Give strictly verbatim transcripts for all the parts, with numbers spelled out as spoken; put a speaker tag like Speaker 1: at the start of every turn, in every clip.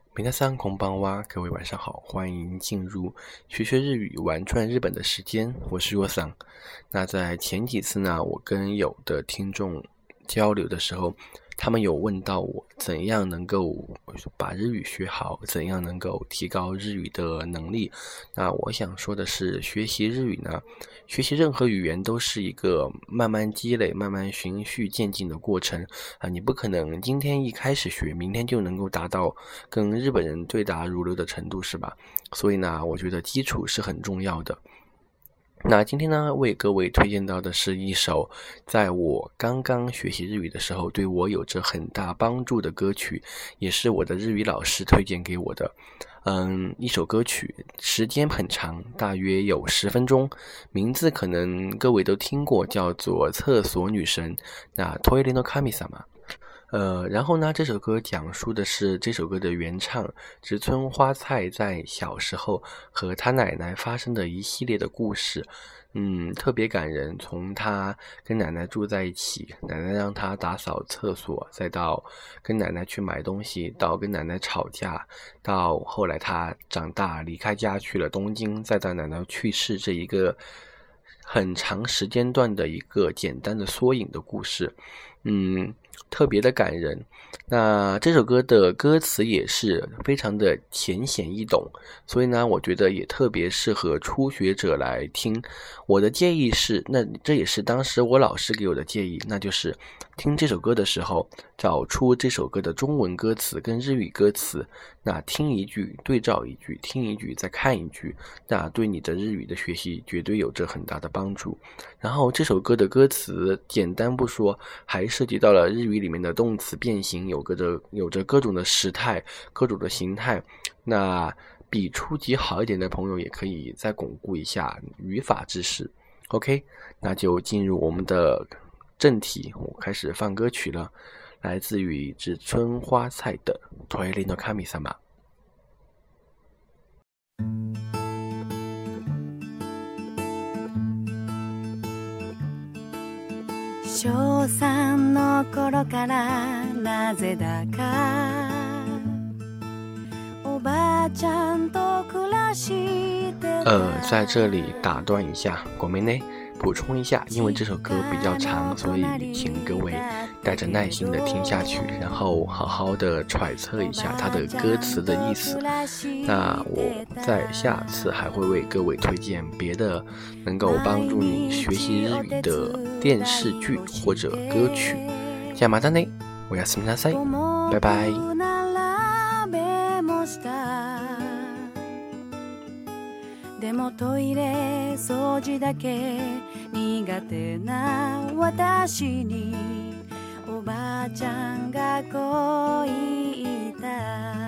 Speaker 1: 皆さんこんばんは，各位晚上好，欢迎进入学学日语玩转日本的时间，我是若桑。那在前几次呢，我跟有的听众交流的时候，他们有问到我怎样能够把日语学好，怎样能够提高日语的能力。那我想说的是，学习日语呢，学习任何语言都是一个慢慢积累、慢慢循序渐进的过程啊！你不可能今天一开始学，明天就能够达到跟日本人对答如流的程度，是吧？所以呢，我觉得基础是很重要的。那今天呢，为各位推荐到的是一首在我刚刚学习日语的时候对我有着很大帮助的歌曲，也是我的日语老师推荐给我的。嗯，一首歌曲，时间很长，大约有十分钟，名字可能各位都听过，叫做《厕所女神》。那トイレの神様。呃，然后呢，这首歌讲述的是这首歌的原唱植村花菜在小时候和他奶奶发生的一系列的故事，嗯，特别感人。从他跟奶奶住在一起，奶奶让他打扫厕所，再到跟奶奶去买东西，到跟奶奶吵架，到后来他长大离开家去了东京，再到奶奶去世，这一个很长时间段的一个简单的缩影的故事，嗯，特别的感人。那这首歌的歌词也是非常的浅显易懂，所以呢，我觉得也特别适合初学者来听。我的建议是，那这也是当时我老师给我的建议，那就是听这首歌的时候，找出这首歌的中文歌词跟日语歌词，那听一句对照一句，听一句再看一句，那对你的日语的学习绝对有着很大的帮助。然后这首歌的歌词简单不说，还涉及到了日语里面的动词变形，有个着有着各种的时态，各种的形态。那比初级好一点的朋友也可以再巩固一下语法知识。 OK， 那就进入我们的正题，我开始放歌曲了，来自于植村花菜的トイレの神様。
Speaker 2: 小三の頃からなぜだかおばあちゃんと暮らして
Speaker 1: 呃，在这里打断一下，ごめんね，补充一下，因为这首歌比较长，所以请各位带着耐心的听下去，然后好好的揣测一下它的歌词的意思。那我在下次还会为各位推荐别的能够帮助你学习日语的电视剧或者歌曲。じゃあまたね、おやすみなさい，拜拜。
Speaker 2: でもトイレ掃除だけ苦手な私におばあちゃんがこう言った。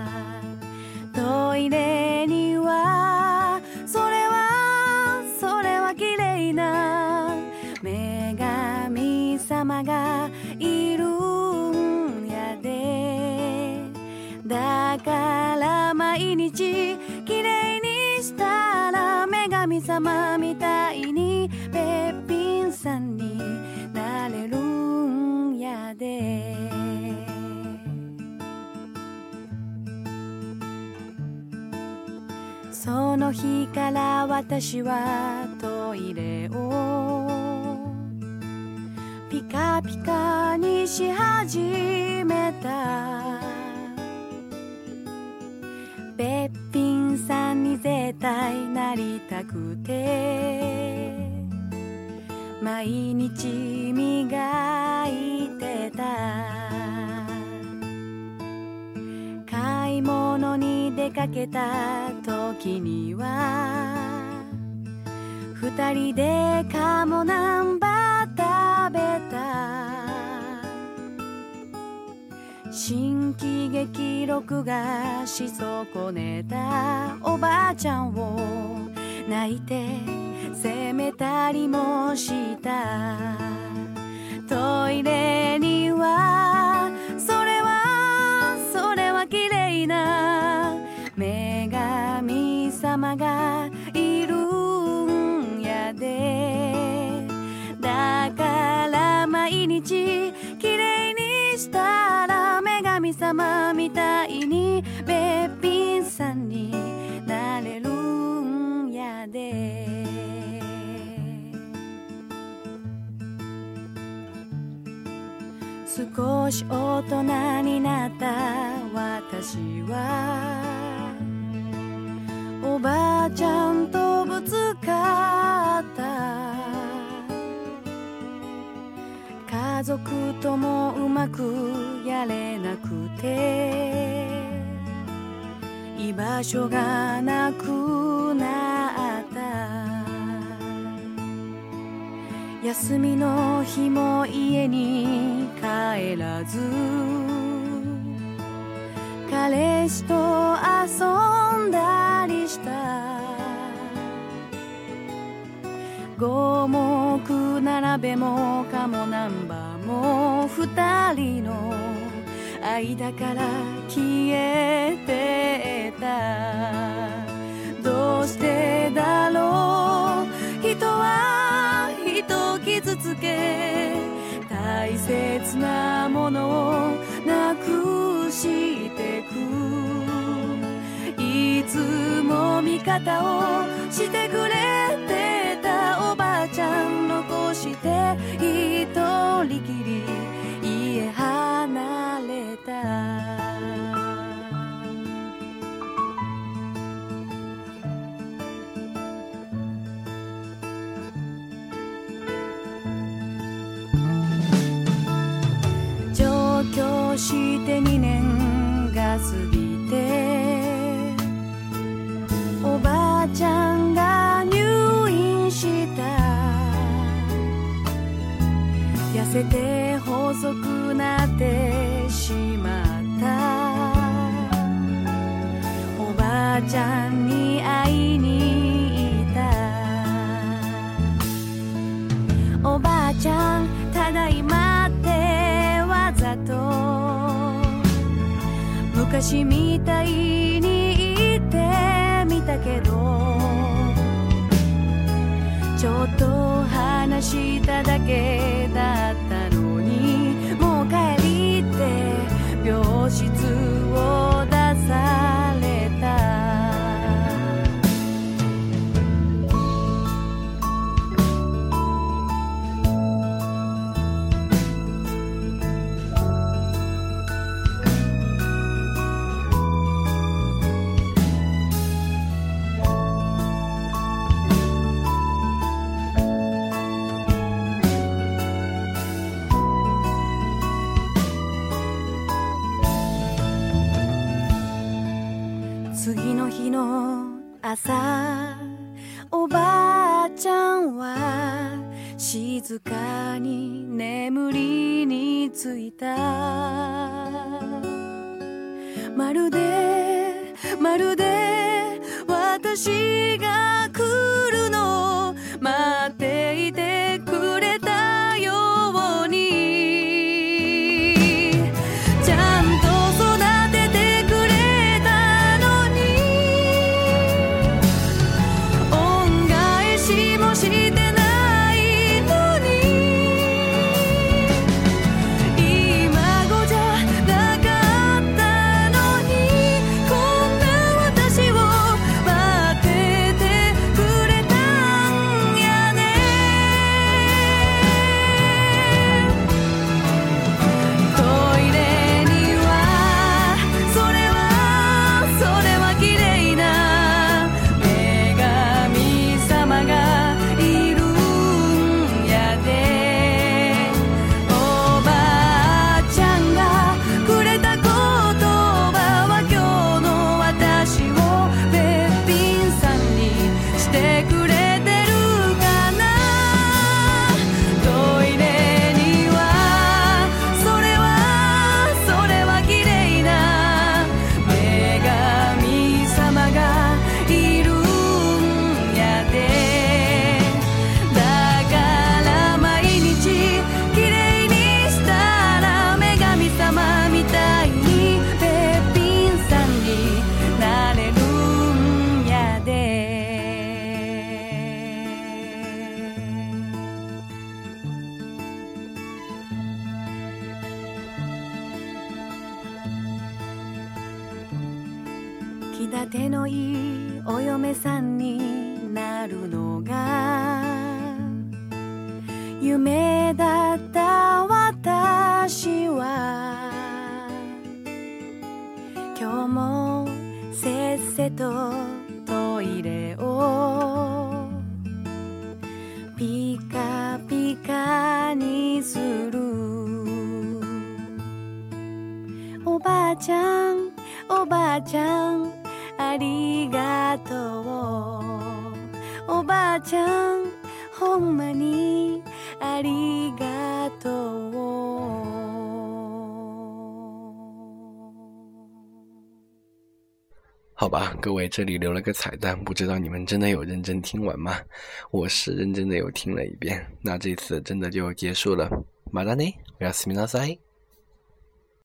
Speaker 2: トイレにはそれはそれは綺麗な女神様がいるんやで。だから毎日綺麗にしたら女神様みたいにべっぴんさんになれるんやで。その日から私はトイレをピカピカにし始めた。べっぴんさんに絶対なりたくて毎日磨いてた。買い物に出かけた時には二人で鴨南蛮食べた。新喜劇録画し損ねたおばあちゃんを泣いて責めたりもした。トイレにはそれはそれは綺麗な女神様がいるんやで。だから毎日綺麗にしたら女神様みたいにべっ少し大人になった私はおばあちゃんとぶつかった家族ともうまくやれなくて居場所がなくなった休みの日も家に帰らず彼氏と遊んだりした五目並べもかもナンバーも二人の間から消えてたどうしてだろう人は人を傷つけ大切なものをなくしてくいつも味方をしてくれてたおばあちゃん残して一人きり家離れた上京してにねんが過ぎておばあちゃんが入院した痩せて細くなってしまったおばあちゃんに会いに行ったおばあちゃんただいまってわざと昔みたいに言ってみたけどちょっと話しただけだったのにもう帰りって病室を出された次の日の朝おばあちゃんは静かに眠りについたまるでまるで私が来るのを待っていてくれたようにちゃんと育ててくれたのに恩返しもしてないのに今頃じゃなかったのにこんな私を待っててくれたんやねトイレにはそれはそれは綺麗な女神様がいるんやでおばあちゃんがくれた言葉は今日の私をべっぴんさんにしてくれてるかなトイレにはそれはそれは綺麗な女神様がいるんやでだから毎日綺麗にしたら女神様みたいにべっぴんさんになれるんやで気立てのいいお嫁さんになるのが夢だった私私は今日もせっせとトイレをピカピカにする。おばあちゃんおばあちゃんありがとう。おばあちゃんほんまにありがとう。
Speaker 1: 好吧，各位，这里留了个彩蛋，不知道你们真的有认真听完吗？我是认真的有听了一遍，那这次真的就结束了。またね、おやすみなさい。